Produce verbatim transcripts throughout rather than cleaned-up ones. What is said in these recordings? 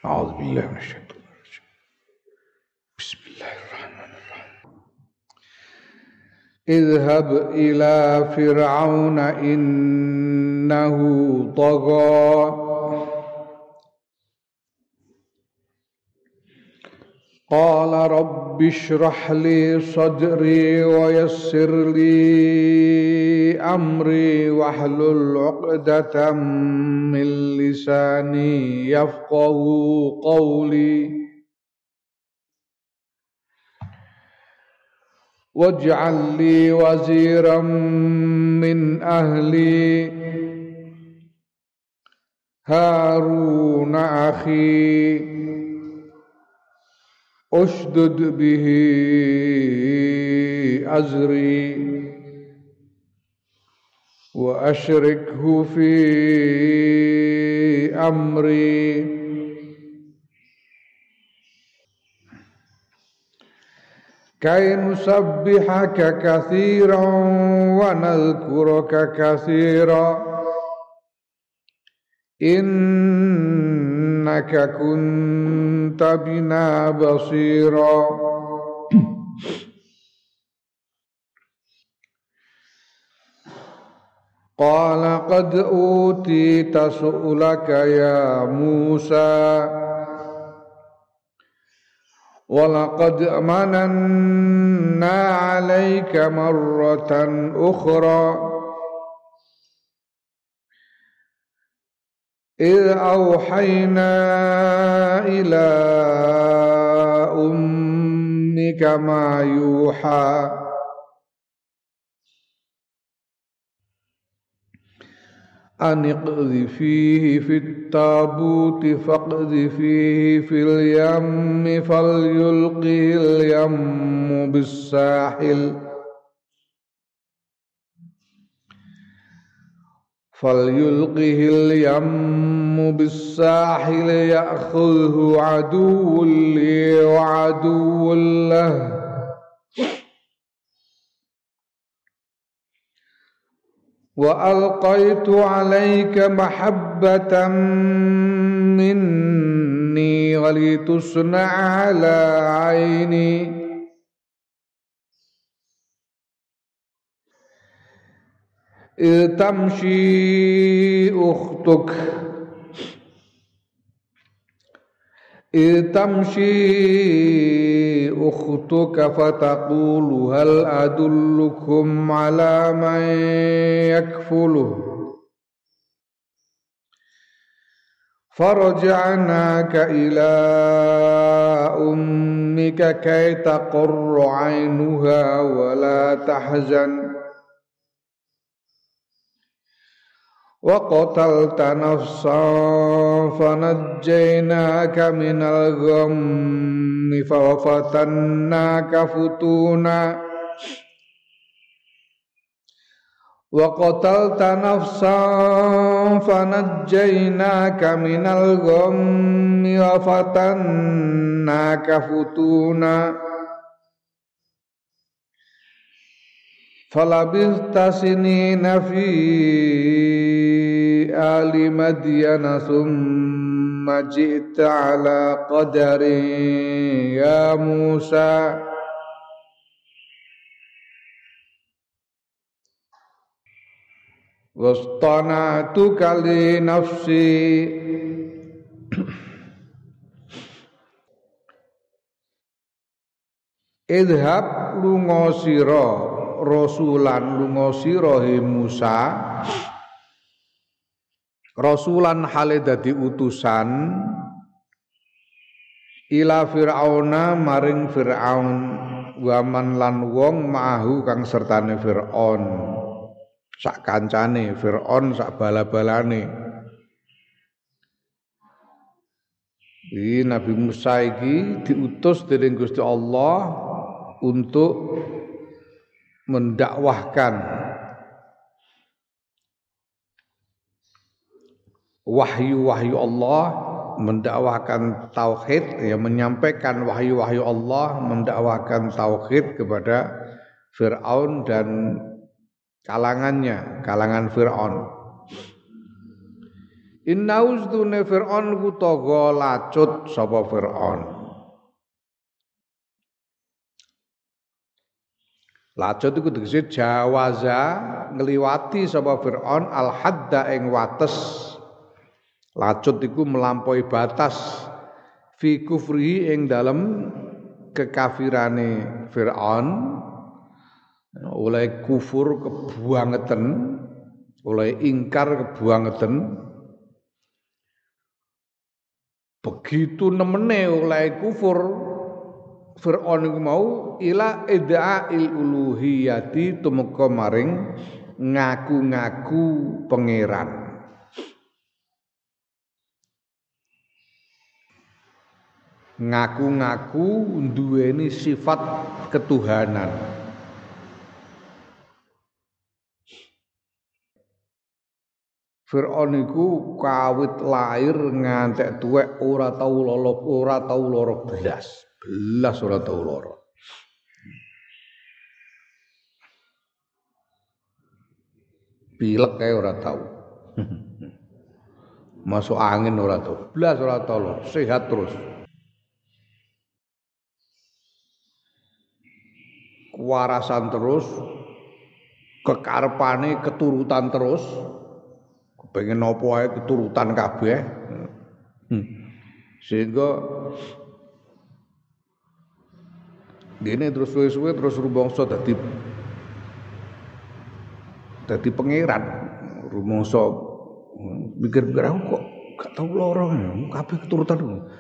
أعوذ بالله من الشيطان الرجيم بسم الله الرحمن الرحيم اذهب إلى فرعون إنه طغى قال رب اشرح لي صدري ويسر لي أمري واحلل عقدة من لساني يفقه قولي واجعل لي وزيرا من أهلي هارون أخي أشدد به أزري وأشركه في أمري كي نسبحك كثيرا ونذكرك كثيرا إنك كنت بنا بصيرا قال قد أوتيت سؤلك يا موسى ولقد مننا عليك مرة أخرى إذ أوحينا إلى أمك ما يوحى أن اقذفيه في التابوت فاقذفيه في اليم فليلقه اليم بالساحل فليلقه اليم بالساحل يأخذه عدو لي وعدو له وألقيت عليك محبة مني ولتصنع على عيني إذ تمشي أختك إذ تمشي أختك فتقول هل أدلكم على من يكفله فرجعناك إلى أمك كي تقر عينها ولا تحزن وقتلت نفسا فنجيناك من الغم ففتناك فتونا وقتلت نفسا فنجيناك من الغم وفتناك فتونا فلبثت سنين في آل مدين ثم جئت على قدر يا موسى واصطنعتك لنفسي اذهب lunga sira rasulan lunga sira he Musa rasulan hale dadi utusan ila fir'auna maring fir'aun waman lan wong ma'ahu kang sertane fir'aun sak kancane fir'aun sak bala-balane iki Nabi Musa iki diutus dening Gusti Allah untuk mendakwahkan wahyu-wahyu Allah, mendakwahkan tauhid, ya menyampaikan wahyu-wahyu Allah, mendakwahkan tauhid kepada Fir'aun dan kalangannya, kalangan Fir'aun. Inna ustune Fir'aun ku togo lacut sapa Fir'aun. Lacut iku tegese jawaza ngliwati sapa Fir'aun al hadda ing wates. Lacut iku melampaui batas fi kufri ing dalem kekafirane Fir'aun. Oleh kufur kebuangeten, oleh ingkar kebuangeten. Begitu nemene oleh kufur Fir'aun iku mau ila ida'il uluhiyati tumeka maring ngaku-ngaku pangeran. Ngaku-ngaku duweni sifat ketuhanan. Fir'aun iku kawit lahir ngantek tuwek ora tau lolo, ora tau lara belas. Belas ora tau lara. Pilek kae ora tau. Masuk angin ora tau. Belas ora tau lara, sehat terus. Kewarasan terus, kekarepane keturutan terus. Pengen nopo ae keturutan kabeh. Hmm. Sehingga dene terus suwe-suwe terus rumangsa dadi dadi pangeran. Rumangsa mikir-mikir aku kok gak tau lara kabeh keturutan.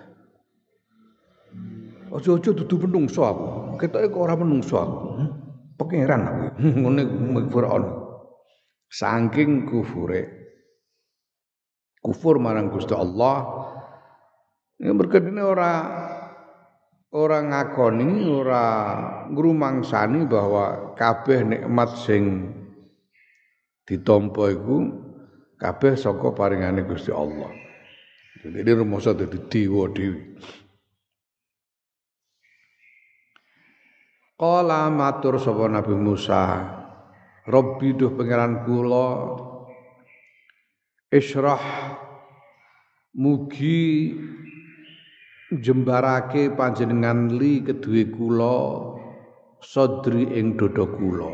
Aja-aja dudu menungso aku. Ketoke kok ora menungso aku. Pangeran aku. Ngene Fir'aun. Saking kufure kufur marang Gusti Allah ya berkedene ora ora ngakoni ora ngrumangsani bahwa kabeh nikmat sing ditampa iku kabeh saka paringane Gusti Allah. Jadi rumangsa dadi dewa dhewe. Qala matur sapa Nabi Musa, Rabbi duh pangeran kula Isyrah mugi jembarake panjenengan li kedue kula sodri ing dada kula.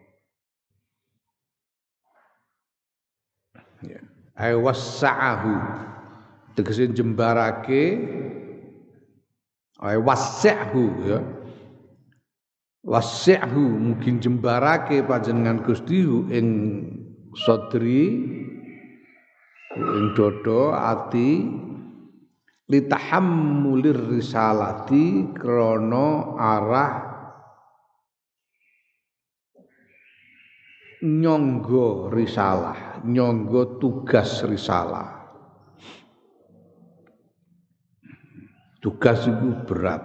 Ya, ay wasa'ahu tegese jembarake ay wasa'hu ya. Wasa'hu mugi jembarake panjenengan Gusti ing sodri ing dodo ati litahammulir risalati krana arah nyangga risalah, nyangga tugas risalah. Tugas itu berat.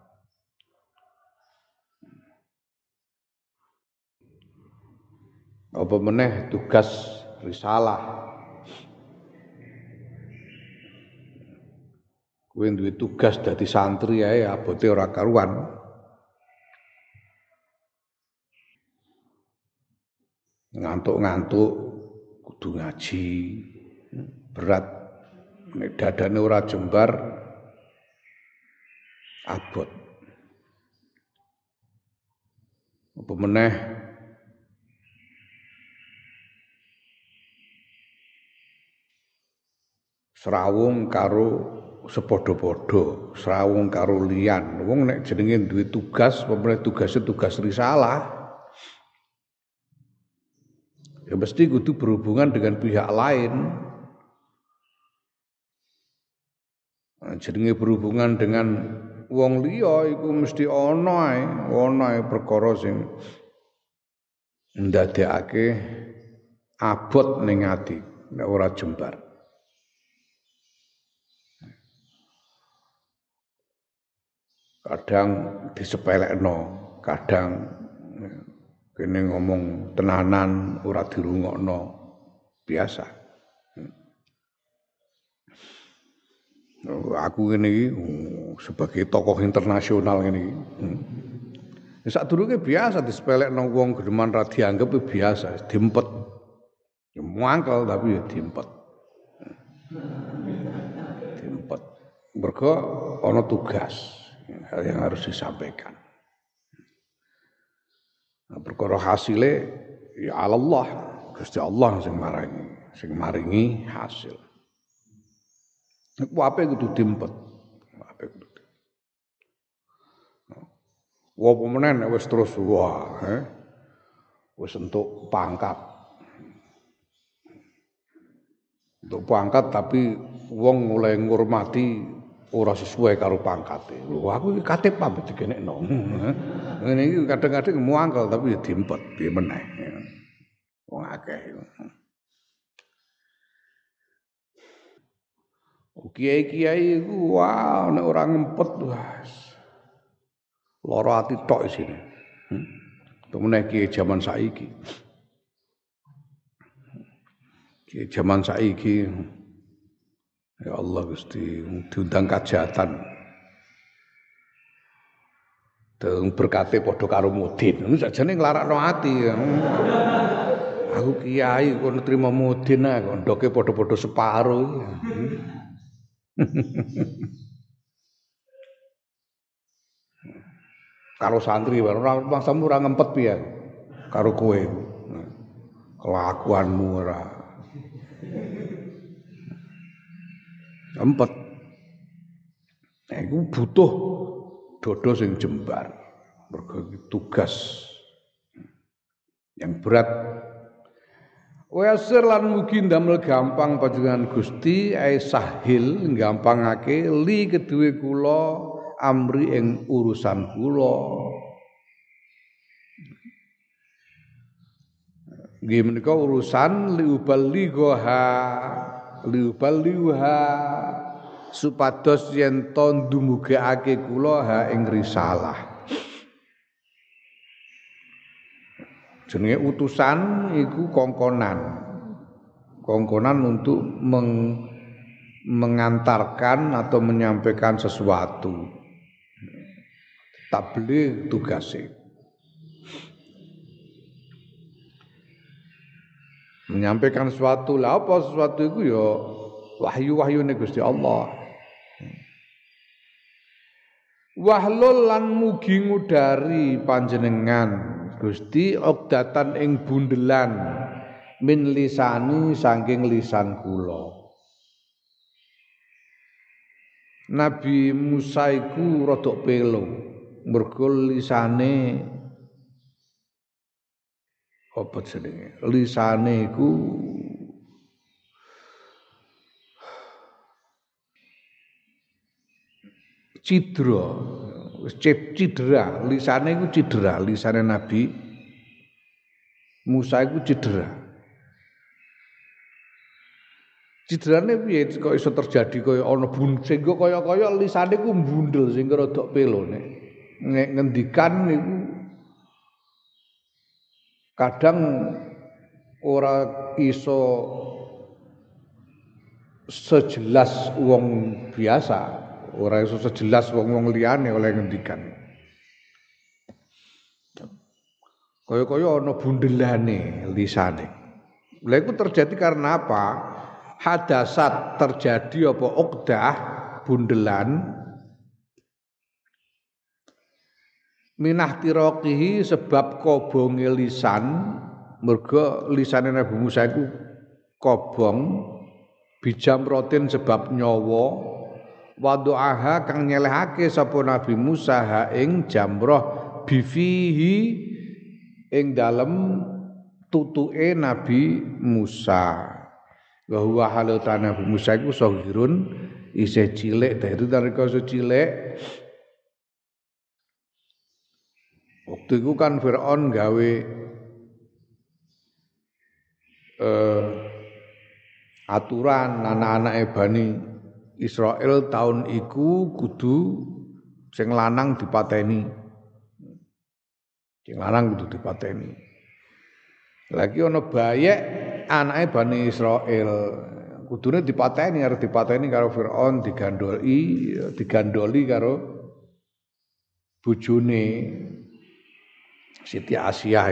Apa meneh tugas risalah. Kowe duwe tugas dadi santri ae abote ora karuan. Ngantuk-ngantuk kudu ngaji. Berat. Nek dadane ora jembar abot. Apa meneh serawung karo sepadha-padha, serawung karo liyan. Wong nek jenenge duwe tugas, pemene tugasé tugas risalah. Ya mesti kudu berhubungan dengan pihak lain. Nah, jenenge berhubungan dengan wong liya iku mesti ana ae, ana ae perkara sing ndadekake abot ning ati nek ora jembar. Kadang disepelekno, kadang kene ngomong tenanan ora dirungokno, biasa. Aku ngene iki sebagai tokoh internasional ngene iki. Ya sadurunge biasa disepelekno wong gedeman ra dianggep biasa, diempet. Ya mangkel tapi ya diempet. Mergo ana tugas yang harus disampaikan. Nah, perkara hasile ya Allah, Gusti Allah sing maringi, sing maringi hasil. Iku ape kudu diempet. Ape kudu. Wa pemenen wis terus wah, eh. Wis entuk pangkat. Entuk pangkat tapi wong mulai ngurmati ora sesuai karo pangkate. Lho aku iki katip apa digenekno. Ngene iki kadang-kadang muangkel tapi ya diempet piye meneh. Wong akeh. Kiai-kiai iku wah nek ora ngempet wah. Lara ati tok isine. Hmm. Temene kiai jaman saiki. Kiai jaman saiki ya Allah Gusti diundang kajatan. Deng berkate padha karo mudin. Niku sajane nglarakno ati. Aku kiai kok nrimo mudin ae kok ndoke padha-padha separo. Karo santri ora mangsamu ora ngempet piye karo kowe. Kelakuanmu ora empet. Nah, iku butuh dodo sing jembar. Mergo tugas yang berat. Wasir lan mugi ndamel gampang panjenengan Gusti ae sahil gampangake li keduwe kula amri ing urusan kula. Nggih menika urusan liubaligha liubaliha supados yen to ndumugakake kula ha ing risalah. Jenenge utusan iku kongkonan. Kongkonan untuk meng, mengantarkan atau menyampaikan sesuatu. Tabligh tugasnya. Menyampaikan sesuatu lah apa sesuatu itu ya wahyu-wahyune Gusti Allah. Wahlul lan mugi ngudari panjenengan Gusti uqdatan ing bundelan min lisani saking lisan kula. Nabi Musa iku rada pelo mergo lisane apa jenenge? Lisane iku cidra, wis cidra, lisane iku cidra, lisane Nabi Musa iku cidra. Cidrane piye kok iso terjadi kaya ana bun sehingga kaya-kaya lisane ku mbundel sehingga rada pelone. Nek ngendikan niku kadang ora iso sejelas wong biasa, ora iso sejelas wong-wong liyane oleh ngendikan. Kaya-kaya ana bundelane lisane. Lha iku terjadi karena apa? Hadasat terjadi apa uqdah bundelan minah tiroqihi sebab kobonge lisan mergo lisane Nabi Musa iku kobong bijam rotin sebab nyawa wadu'aha kang nyelehake sapa Nabi Musa ha ing jamrah bifihi ing dalem tutuke Nabi Musa. Wa huwa halutan Nabi Musa iku saghirun isih cilik dari nalika isih cilik. Waktu itu kan Fir'aun gawe eh, aturan anak-anak Bani Israel tahun iku kudu sing lanang dipateni. Sing lanang kudu dipateni. Lagi ana bayek anake Bani Israel kudune dipateni arep dipateni karo Firaun digandoli digandoli karo bojone Siti Asia.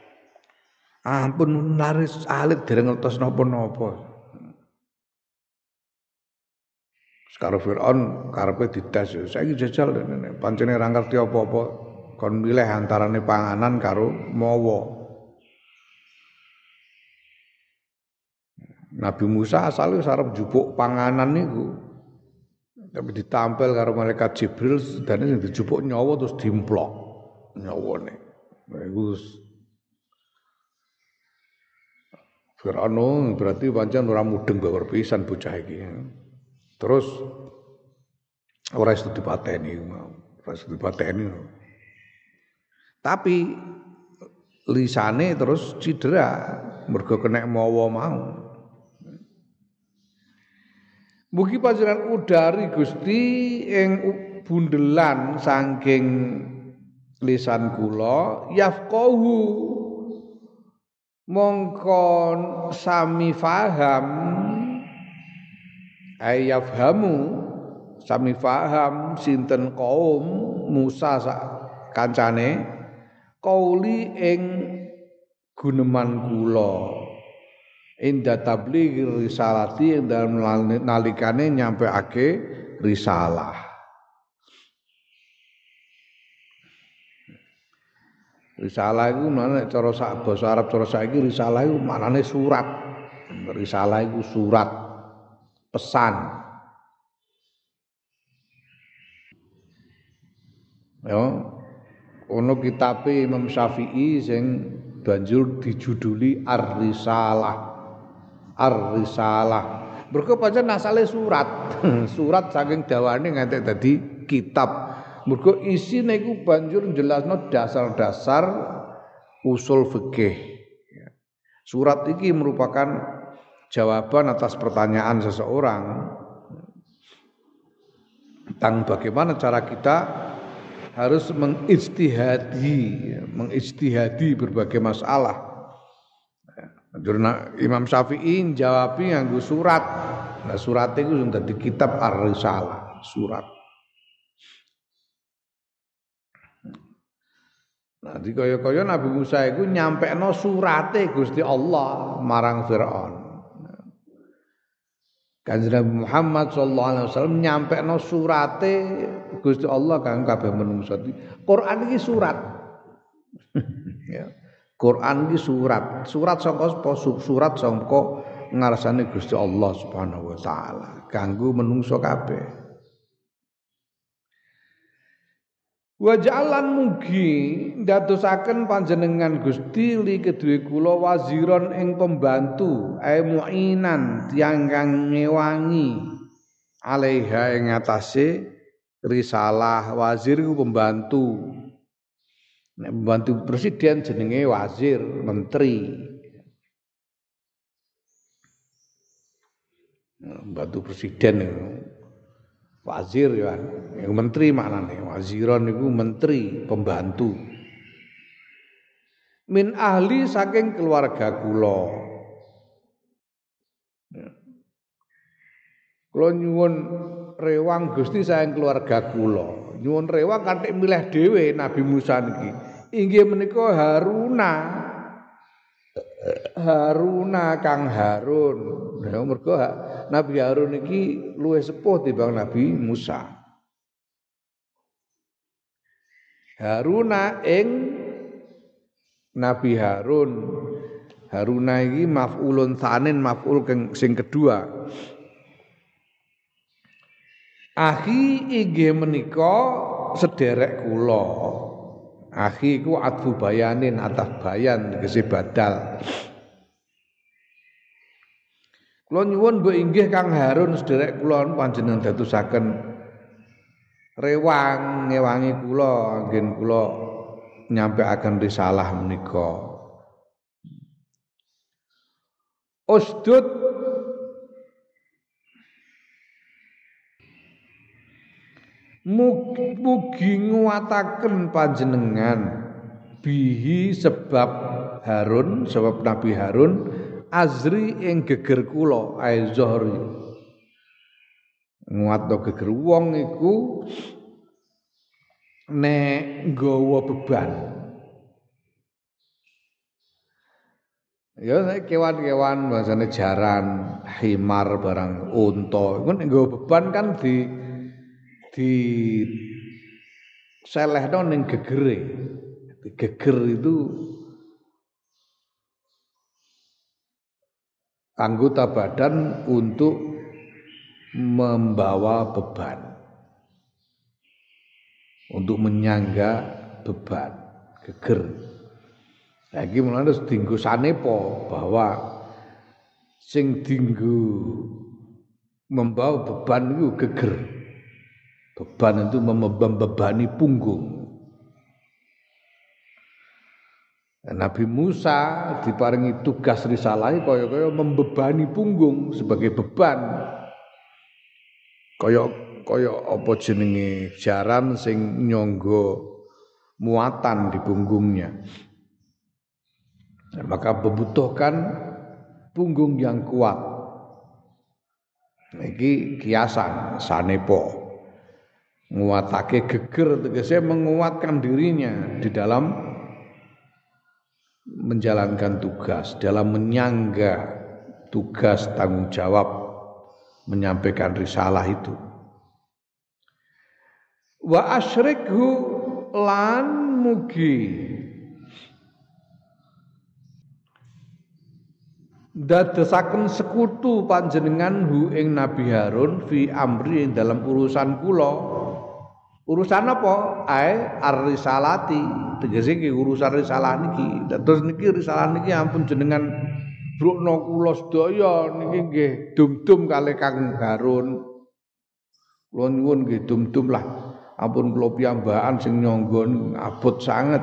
Ampun laris alit dereng ngertos napa-napa. Karo Firaun karepe dites, saiki jajal pancene ra ngerti apa-apa kon milih antarane panganan karo mawa. Nabi Musa asale arep njupuk panganan niku. Tapi ditampil karo malaikat Jibril sedane sing dijupuk nyawa terus dimplok nyawane. Iku Firaun berarti pancen ora mudeng babar pisan bocah iki. Terus ora iso dipateni, ora iso dipateni. Tapi lisane terus cedera mergo kena mawa mau. Mugi panjenengan udari Gusti ing bundelan saking lisan kula yafqahu mongkon sami faham ayafhamu sami faham sinten kaum Musa sak kancane qauli ing guneman kula inda tabligh risalati dalam nalikane nyampeake risalah. Risalah iku mana cara sak basa Arab cara saiki risalah iku maknane surat. Risalah iku surat pesan. Ya. Ono kitabe Imam Syafi'i sing banjur dijuduli Ar-Risalah. Ar-Risalah. Mergo pancen asale surat. Surat saking dawane nganti dadi kitab. Mergo isine iku banjur jelasno dasar-dasar usul fikih. Surat iki merupakan jawaban atas pertanyaan seseorang tentang bagaimana cara kita harus mengijtihadi, mengijtihadi berbagai masalah. Imam Syafi'i jawabi nganggo surat. Nah, surat itu sudah di kitab Ar-Risalah, surat. Nah, di kaya-kaya Nabi Musa itu nyampekno surate Gusti Allah marang Firaun. Kanjeng Nabi Muhammad sallallahu alaihi wasallam nyampekno surate Gusti Allah kang kabeh manungsa. Quran iki surat. Ya. Quran iki surat, surat saka surat saka ngarsane Gusti Allah Subhanahu wa taala kanggo menungso kabeh. Wa ja'alan mugi ndadosaken panjenengan Gusti li kedue kula waziron ing pembantu ae muinan tiyang kang ngewangi alaiha ing atase risalah. Wazir iku pembantu. Nek pembantu presiden jenenge wazir, menteri. Pembantu presiden itu wazir ya, yang menteri maknane. Waziron itu menteri, pembantu. Min ahli saking keluarga kula. Kula nyuwun rewang Gusti saking keluarga kula. Nyuwun rewang kanthi milih dhewe Nabi Musa niki. Inggih menika Haruna. Haruna Kang Harun. Ya mergo Nabi Harun iki luwih sepuh timbang Nabi Musa. Haruna ing Nabi Harun. Haruna iki maf'ulun tsanin, maf'ul sing kedua. Akhi inggih menika sederek kula. Akhi iku atfu bayanin atas bayan tegese badal. Kula nyuwun mbok inggih Kang Harun sederek kula panjenengan dadosaken rewang ngewangi kula anggen kula nyampekaken risalah menika. Usdud mugi nguwataken panjenengan bihi sebab Harun, sebab Nabi Harun azri ing geger kula ae zohri. Nguatno geger wong iku nek nggawa beban. Ya kewan-kewan bahasane jaran, himar barang unta. Iku nek nggawa beban kan di di selehno ning gegere. Geger itu anggota badan untuk membawa beban. Untuk menyangga beban, geger. Saiki mulane terus dienggo sanepa bahwa sing dienggo membawa beban itu geger. Beban itu membebani punggung. Nabi Musa diparingi tugas risalah kaya-kaya membebani punggung sebagai beban. Kaya kaya apa jenenge jaran sing nyangga muatan di punggungnya. Nah, maka membutuhkan punggung yang kuat. Iki kiasan sanepa. Nguatake geger tegese menguatkan dirinya di dalam menjalankan tugas, dalam menyangga tugas tanggung jawab menyampaikan risalah itu. Wa asyrikhu lan mugi dadosaken sekutu panjenengan hu ing Nabi Harun fi amri ing dalam urusan kula. Urusan apa? Ai ar-risalati, tegese iki urusan risalah niki. Terus niki risalah niki ampun jenengan brukna kula sedaya niki nggih dum-dum kalih Kang Harun. Kula nyuwun nggih dum-dum lah. Ampun kula piyambakan sing nyangga abot sanget.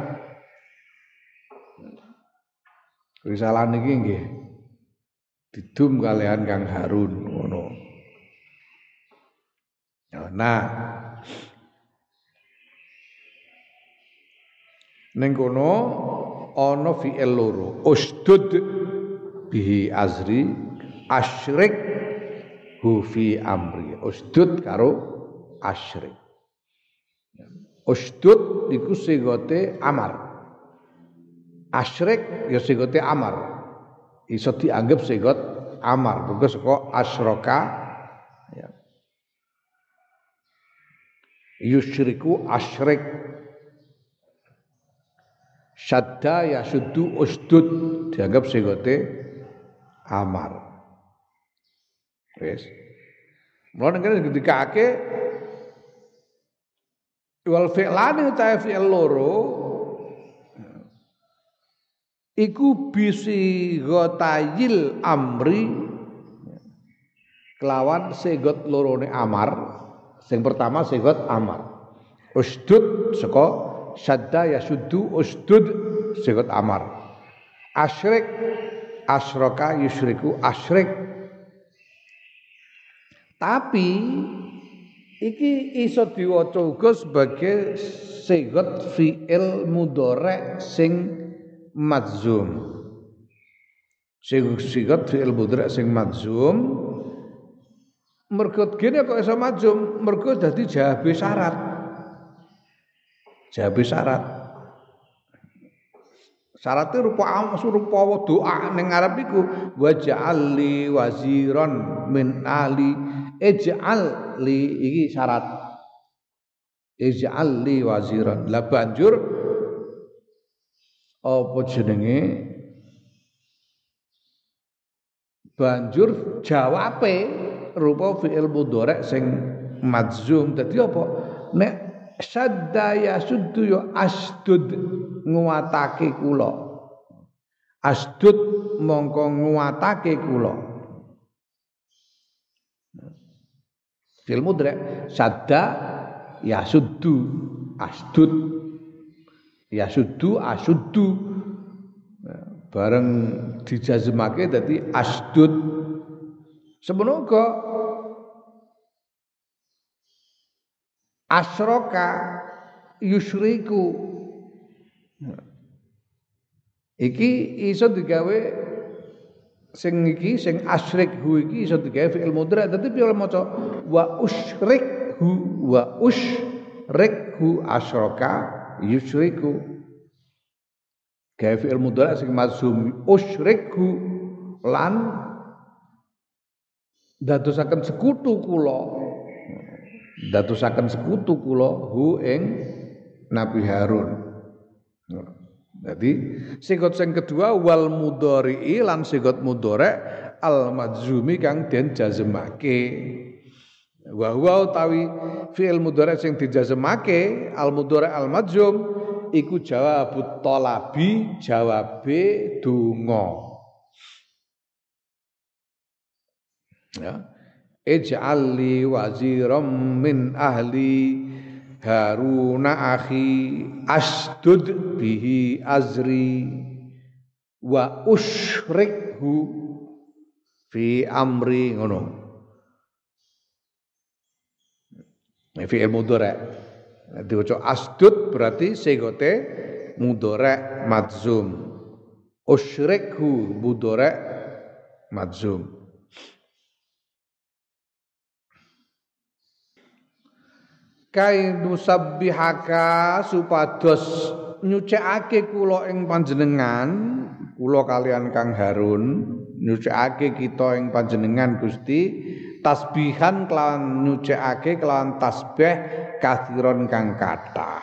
Risalah niki nggih didum kalian Kang Harun ngono. Nah, ning kono ana fi'il loro. Usdud bihi azri asyrik hu fi amri. Usdud karo asyrik. Usdud iku sigote amar. Asyrik ya sigote amar. Iso dianggap sigot amar. Mergo saka asyraka ya. Yusyriku asyrik. Syadda ya suddu usdud dianggap sigote amar. Wis. Mulane kene ketika ake wal fi'lani utawa fi'il loro iku bisi ghotayil amri kelawan sigot lorone amar. Sing pertama sigot amar. Usdud saka syadda yasuddu usdud sigot amar. Asyrik asyraka yusyriku asyrik. Tapi iki iso diwaca uga sebagai sigot fi'il mudhari' sing madzum. Sing sigot fi'il mudhari' sing madzum mergo gene kok iso madzum mergo dadi jawabe syarat. Jawabe syarat. Syaratnya rupa rupa doa ning Arab iku waj'al li waziran min ali ij'al li iki syarat. Ij'al li waziran. Lah banjur apa jenenge? Banjur jawabe rupa fi'il mudhari' sing madzum. Dadi apa? Nek syadda yasuddu ya asdud nguatake kula. Asdud mongko nguatake kula. Fi'il mudhari' syadda yasuddu asdud yasuddu asuddu bareng dijazmake dadi asdud. Semono uga asyraka yusyriku iki iso digawe sing iki sing asyrikhu iki iso digawe fi'il mudhari' dadi piye maca wa usyrikhu wa usyrikhu asyraka yusyriku gawe fi'il mudhari sing mazhum usyrikhu lan dadosaken sekutu kula dadosaken sekutu kula hu ing Nabi Harun. Jadi sigot sing kedua wal mudhari'i lan sigot mudhari al majzumi kang den jazmake. Wa huwa utawi fi'il mudhari sing dijazmake al mudhari al majzum iku jawabut talabi jawabe donga. Ya. Ij'al li waziram min ahli Haruna akhi asdud bihi azri wa usyrikhu fi amri ngono. Fi'il mudhari. Diwaca asdud berarti sigote mudhari madzum. Usyrikhu mudhari madzum. Kai nusabbihaka supados nyucikake kula ing panjenengan kula kalian Kang Harun nyucikake kita ing panjenengan Gusti tasbihan kelawan nyucikake kelawan tasbih kathiron kang kathah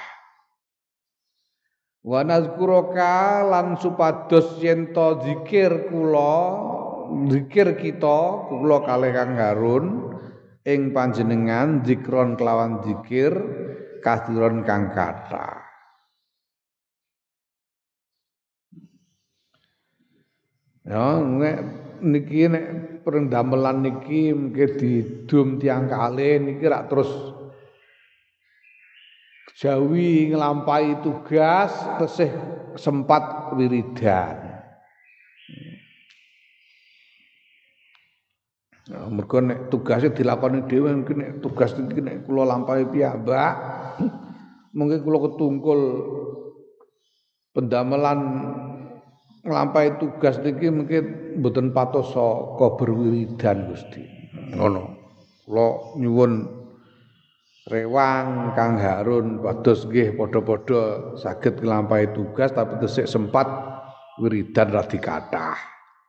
wa nazkuraka lan supados yen to zikir kula zikir kita kula kalih Kang Harun ing panjenengan zikron kelawan zikir kathiron kang kathah. Ya nek niki nek perendamelan niki mengke didum tiang kalih niki rak terus jawi nglampahi tugas tesih sempat wiridan. Nah, mergo nek tugase dilakoni dhewe mungkin nek tugas iki nek kula lampahi piyambak mungkin kula ketungkul pendamelan nglampahi tugas niki mungkin mboten patos saka berwiridan Gusti. Ngono. Kula nyuwun rewang Kang Harun pados nggih padha-padha saged nglampahi tugas tapi tesih sempat wiridan radi kathah.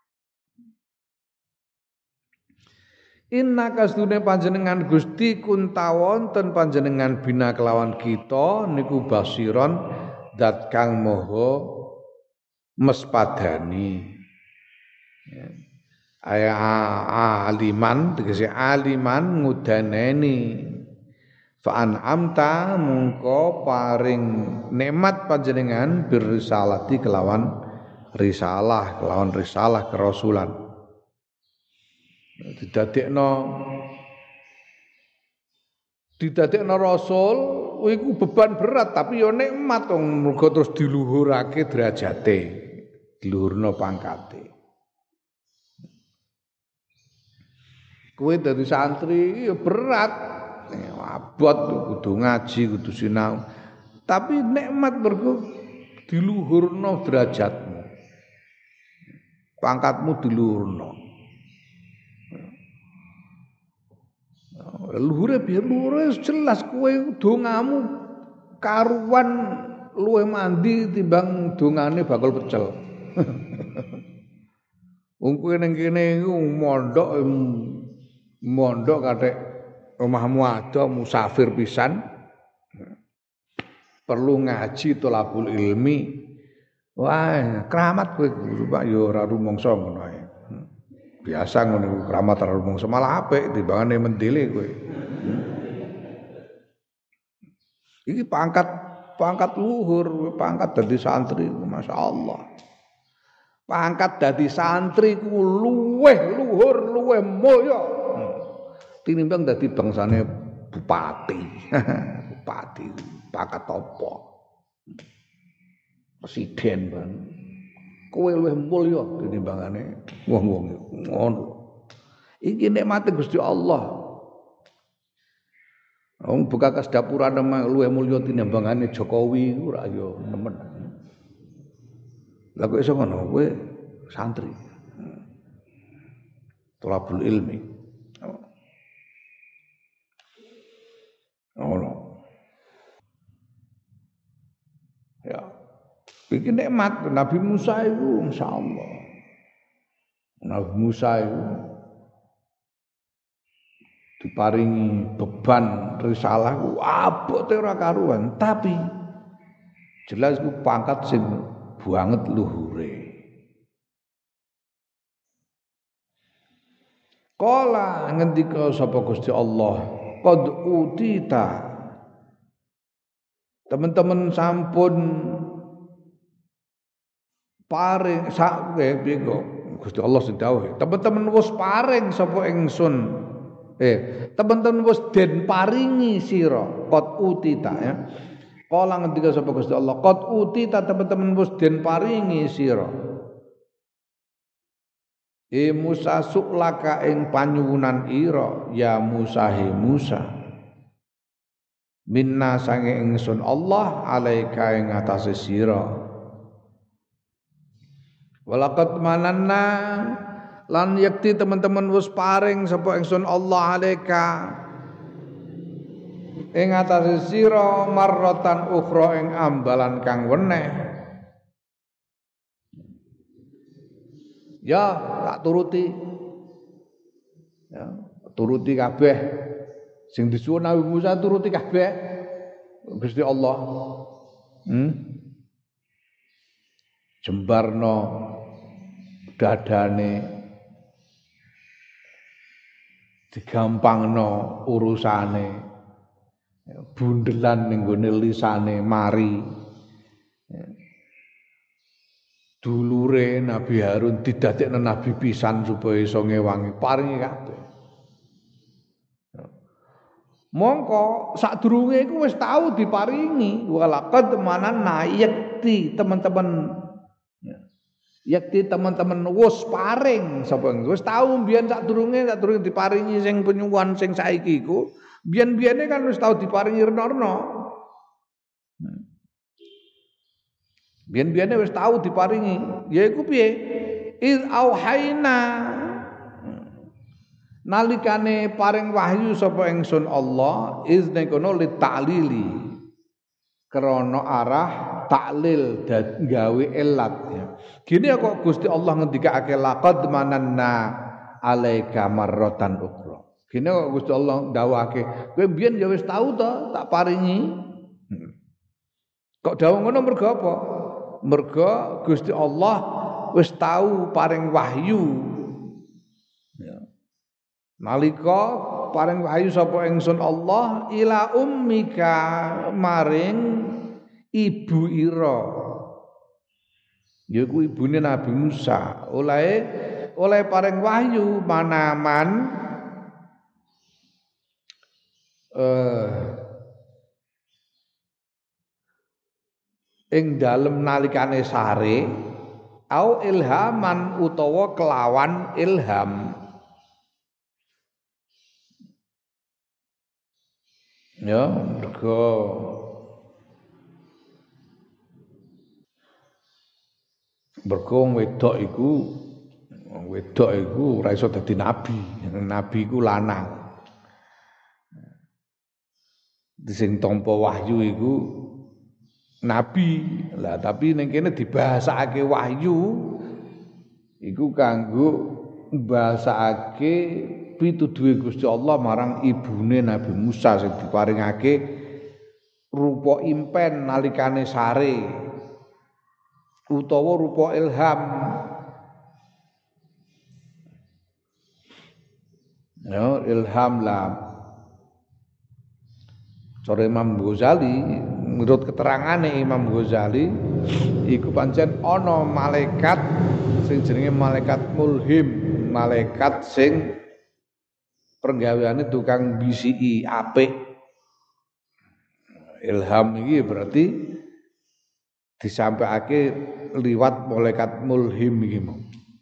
Inna kasdune panjenengan Gusti kuntawonten panjenengan bina kelawan kita niku basiron zat kang maha mespadani. Ya. Aya aliman tegese aliman ngudaneni. Fa an'amta mungko paring nikmat panjenengan birisalati kelawan risalah kelawan risalah kerasulan. Didadekno didadekno rasul iku beban berat tapi ya nikmat wong muga terus diluhurake derajate diluhurno pangkate kowe dadi santri ya berat abot kudu ngaji kudu sinau tapi nikmat mergo diluhurno derajatmu pangkatmu diluhurno luhure biar luhure jelas kowe dongamu karuan luwih mandi timbang dongane bakal pecel. Wong kowe ning kene iku mondok mondok kathek omahmu ada musafir pisan perlu ngaji tolabul ilmi. Wah, keramat kowe guru Pak ya ora rumangsa ngono ae. Biasa ngono keramat ora rumangsa malah apik timbangane mendele kowe. Iki pangkat pangkat luhur, pangkat dadi santri, masyaallah. Pangkat dadi santri ku luweh luhur, luweh mulya. Tinimbang dadi bangsane bupati. Bupati pangkat apa? Presiden ban. Kowe luweh mulya tinimbangane wong-wong ngono. Iki nikmate Gusti Allah. Wong bekas dapuran luwih mulya tinimbangane Jokowi ora ya nemen. Lah kok iso ngono kowe santri. Tolabul ilmi. Oh. Ya. Iki nikmat Nabi Musa itu insyaallah. Nabi Musa itu diparingi beban risalah ku abote ora karuan, tapi jelas ku pangkat sing banget luhure. Kala ngendika sapa Gusti Allah, qad utita. Teman-teman sampun paring sak piye kok Gusti Allah sing dawuh. Teman-teman wis paring sapa ingsun. Eh, teman-teman wis den paringi sira, qad utita ya. Kala ngendika sapa Gusti Allah, qad utita teman-teman wis den paringi sira. E Musa suklaka ing panyuwunan ira ya Musa he Musa. Minna sange ingsun Allah alaika ing atase sira. Walaqad mananna lan yakti teman-teman wis paring sapa ingsun Allah alaika ing atase sira marratan ukhra ing ambalan kang weneh. Ya, tak turuti. Ya, turuti kabeh. Sing disuwun Nabi Musa turuti kabeh. Gusti Allah. Hmm? Jembarno dadane. Digampangno urusane. Bundelan ning gone lisane mari. Dulure Nabi Harun didadekno nabi pisan supaya iso ngewangi paringi kabeh. Mongko sadurunge iku wis tau diparingi walaqad mananna yakti teman-teman yakti teman-teman wis paring sapa wis tau mbiyen sadurunge sadurunge diparingi sing penyuwun sing saiki iku biyen-biyene kan wis tau diparingi rena-rena. Biyen-biyene wis tau diparingi, yaiku piye? Iz auhaina nalikane paring wahyu sapa ingsun Allah izne kono li ta'lili krana arah taklil dan gawe elat ya. Gini kok Gusti Allah ngendikake laqad mananna alaika marratan ukhra. Gini kok Gusti Allah ndawuhake, kowe mbiyen ya wis tau to tak paringi. Kok dawuh ngono mergo apa? Mergo Gusti Allah wis tau paring wahyu. Ya. Nalika paring wahyu sapa ingsun Allah ila ummika maring ibu ira. Yaiku ibune Nabi Musa. Oleh oleh paring wahyu manaman eh ing dalem nalikane sare au ilhaman utawa kelawan ilham ya mergo mergo wedok iku wedok iku ora iso dadi nabi nabi iku lanang sing tampa wahyu iku nabi lah tapi ning kene dibahasake wahyu iku kanggo bahasake pituduhe Gusti Allah marang ibune Nabi Musa sing diparingake rupa impen nalikane sare utawa rupa ilham ya ilham lah cara Imam Ghazali menurut keterangane Imam Ghazali iku pancen ana malaikat sing jenenge malaikat mulhim, malaikat sing penggaweane tukang bisiki apik. Ilham iki berarti disampaikake liwat malaikat mulhim iki mau.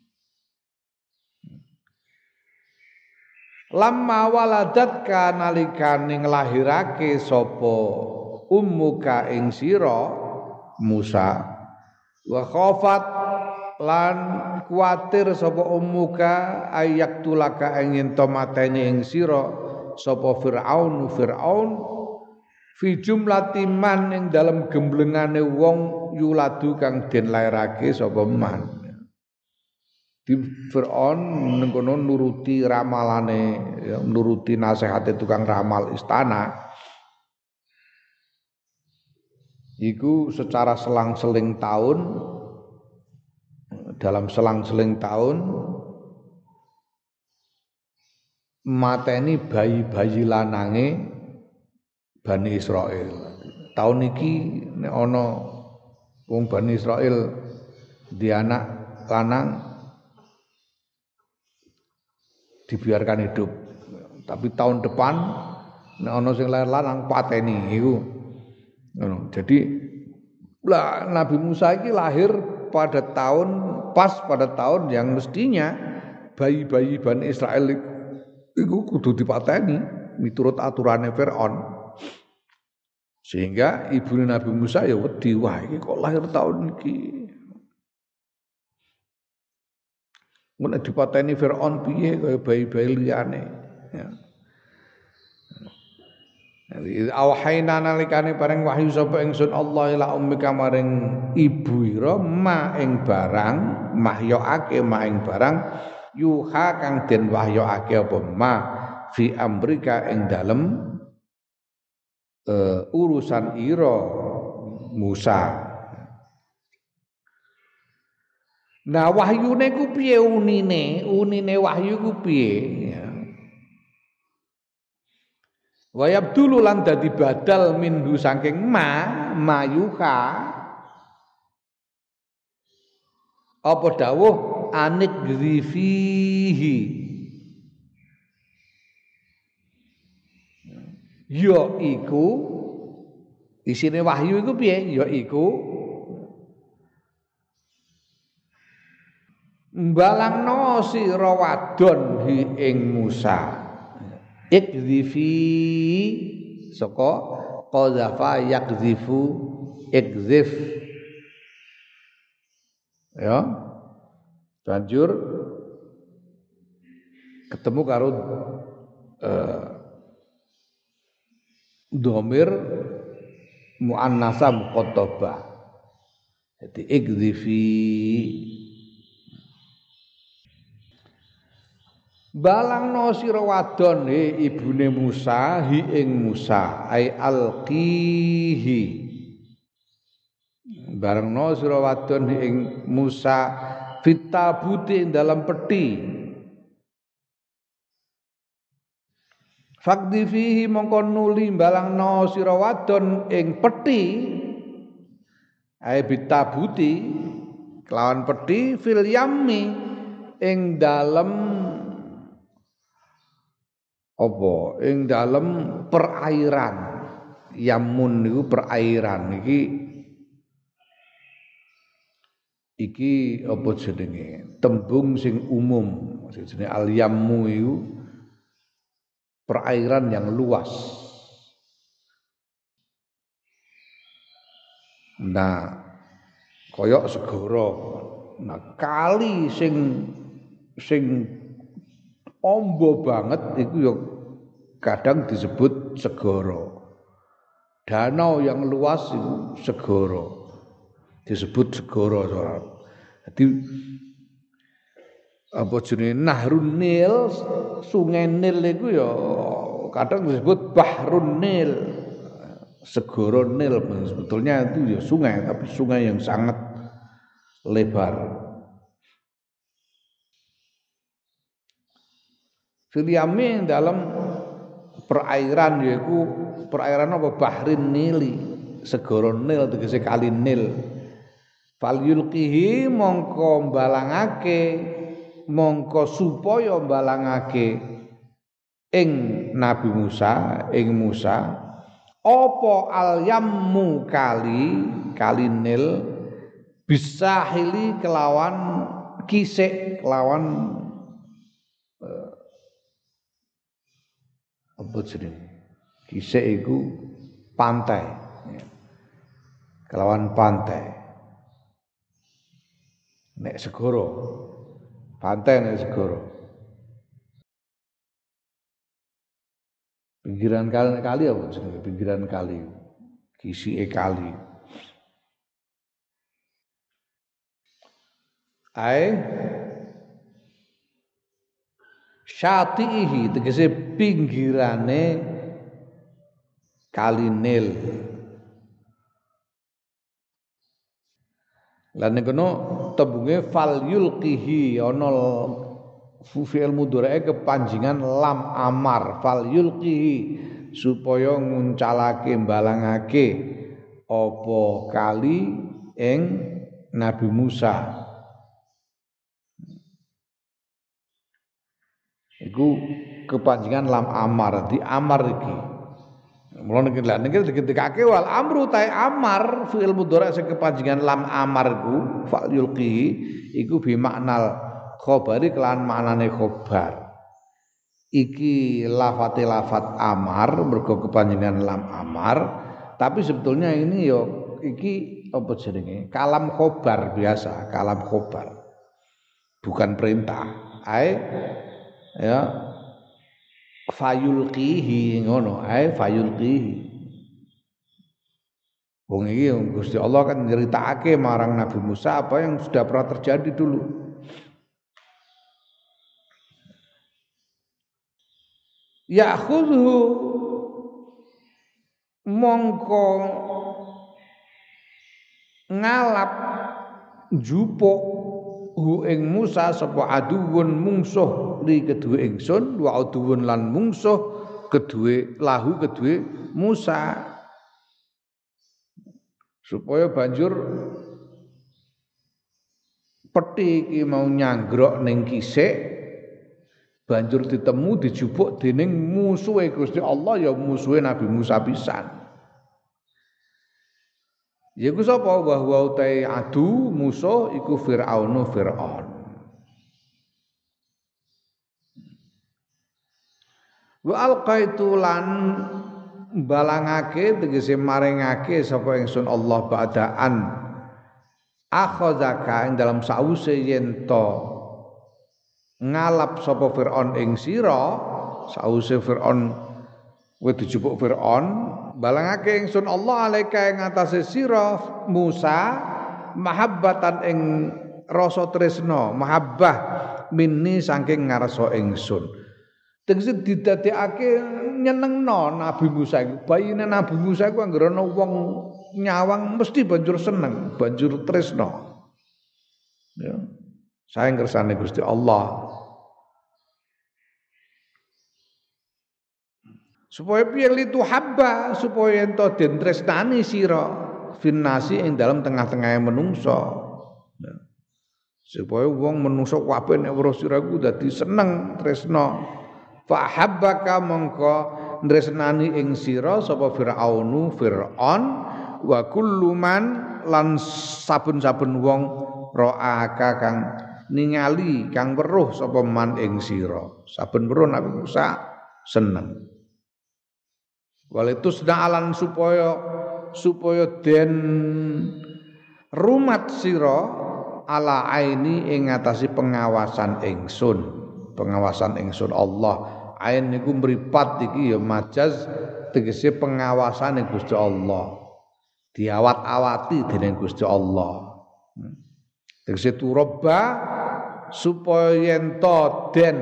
Lamma waladatka nalikane nglahirake sapa ummuka ing sira Musa wa khafat lan kuwatir sapa ummuka ayak tulaka ing ento mateni ing sira sapa Firaun Firaun fi jumlati man ing dalem gemblengane wong yuladu kang den lairake sapa man. Di Fir'aun nengkono nuruti ramalane ya, nuruti nasihate tukang ramal istana. Iku secara selang-seling tahun, dalam selang-seling tahun mateni bayi-bayi lanange Bani Israil. Tahun iki nek ana wong Bani Israil di anak lanang dibiarkan hidup. Tapi tahun depan nek ana sing lair lanang pateni iku. Ngono. Jadi lah Nabi Musa ini lahir pada tahun pas pada tahun yang mestinya bayi-bayi Bani Israel itu kudu dipateni miturut aturannya Fir'aun. Sehingga ibu Nabi Musa ya wedi, wah iki kok lahir tahun iki. Mun dipateni Fir'aun piye kaya bayi-bayi liyane. Ya. Awhayna nalikane bareng wahyu sapa ingsun Allah ila ummika maring ibu ira ma ing barang mahyokake ma ing barang yuha kang den wahyokake apa ma fi amrika ing dalem uh, urusan ira Musa. Nah wahyune ku piye unine unine wahyu ku piye ya. Wa yabdulu lan dadi badal minhu saking ma mayuha apa dawuh anik grifihi ya iku isine wahyu iku piye ya iku mbalangno sira wadon hi ing Musa ikdzifi saka qazafa yakzifu ikzif ya banjur ketemu karo uh, dhamir muannasa muqaddabah jadi ikzifi balangno sira wadon he ibune Musa hi ing Musa ai alqihi barengno sira wadon hi ing Musa fitabuti dalam peti fakdi fihi mongko nuli balangno sira wadon ing peti ai bitabuti kelawan peti fil yammi ing dalem apa ing dalem perairan yamun niku perairan iki iki apa jenenge tembung sing umum jenenge al yammu iku perairan yang luas. Nah koyok segara nah kali sing sing ombo banget iku ya kadang disebut segara. Danau yang luas itu segara. Disebut segara soal. Jadi apa jenenge Nahrun Nil, Sungai Nil iku ya kadang disebut Bahrun Nil. Segara Nil sebetulnya itu ya sungai tapi sungai yang sangat lebar. Filiami dalam perairan yaitu perairan apa Bahrin Nili segara Nil tegese kali Nil fal yulqihi mongko balangake mongko supaya balangake ing Nabi Musa ing Musa apa al yammu kali kali Nil bisahili kelawan kisik kelawan apa jenenge kisik iku pantai ya. Kelawan pantai nek segara pantai nek segara Pinggiran kali kali apa jenenge? Pinggiran kali. Kisike kali. Ae syatihi tegese pinggirane kali Nil. Lan ning kono tembunge fal yulqihi ana fi'il mudhari'e kepanjingan lam amar fal yulqihi supaya nguncalake balangake apa kali ing Nabi Musa. Iku kepanjingan lam amar di amar iki. Mula niki lha niki diketikake wal amru ta amar fi'il mudhari' sing kepanjingan lam amar iku fa'il yulqi iku bi maknal khabari kelan maknane khabar. Iki lafate lafat amar mergo kepanjingan lam amar, tapi sebetulnya ini yo iki apa jenenge? Kalam khabar biasa, kalam khabar. Bukan perintah. Ae ya fayulqihi ngono ae fayulqihi wong iki Gusti Allah kan nyeritakake marang Nabi Musa apa yang sudah pernah terjadi dulu. Ya'khudhu mongko ngalap jupuk hu ing Musa sapa aduwun mungsuh li kedue ingsun wa aduwun lan mungsuh kedue lahu kedue Musa supaya banjur peti iki mau nyanggrok ning kisik banjur ditemu dijupuk dening musuhe Gusti Allah ya musuhe Nabi Musa pisan. Iku sapa wa huwa utai adu musuh iku Firaun Firaun. Wa alqaitu lan balangake tegese maringake sapa ingsun Allah ba'daan akhadzaka ing dalam sause yen to ngalap sapa Firaun ing sira sause Firaun kowe dijupuk Firaun balangake ingsun Allah alaika ing atase sira Musa mahabbatan ing rasa tresna mahabbah minni saking ngarsa ingsun tegese didadekake nyenengno Nabi Musa iku bayine Nabi Musa iku anggere ana wong nyawang mesti banjur seneng banjur tresna ya saeng kersane Gusti Allah supaya piye litu habba supaya ento den tresnani sira finnasi ing dalam tengah-tengahe menungso ya. Supaya wong menungso kabeh nek weruh sira iku dadi seneng tresna fa habbaka mongko tresnani ing sira sapa Firaunu Firaun wa kullu man lan saben-saben wong ra'aka kang ningali kang weruh sapa man ing sira saben weruh Nabi Musa seneng. Walitus alan supaya supaya den rumat sira ala aini ing ngatasi pengawasan ingsun pengawasan ingsun Allah ain niku mripat iki ya majaz tegese pengawasan Gusti Allah diawat-awati dening Gusti Allah tegese turaba supaya yen to den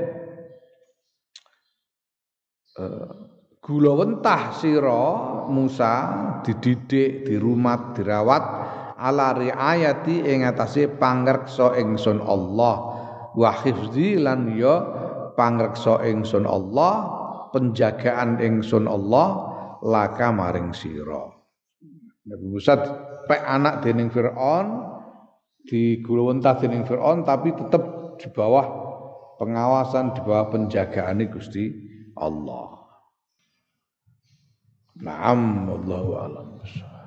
uh, gula wentah sira Musa dididik, dirumat, dirawat ala riayati ing atase pangreksa ingsun Allah wa hifzi lan ya pangreksa ingsun Allah penjagaan ingsun Allah laka maring sira. Nabi Musa pek anak dening Firaun di gula wentah dening Firaun tapi tetap di bawah pengawasan di bawah penjagaane Gusti Allah. Naam wallahu a'lam.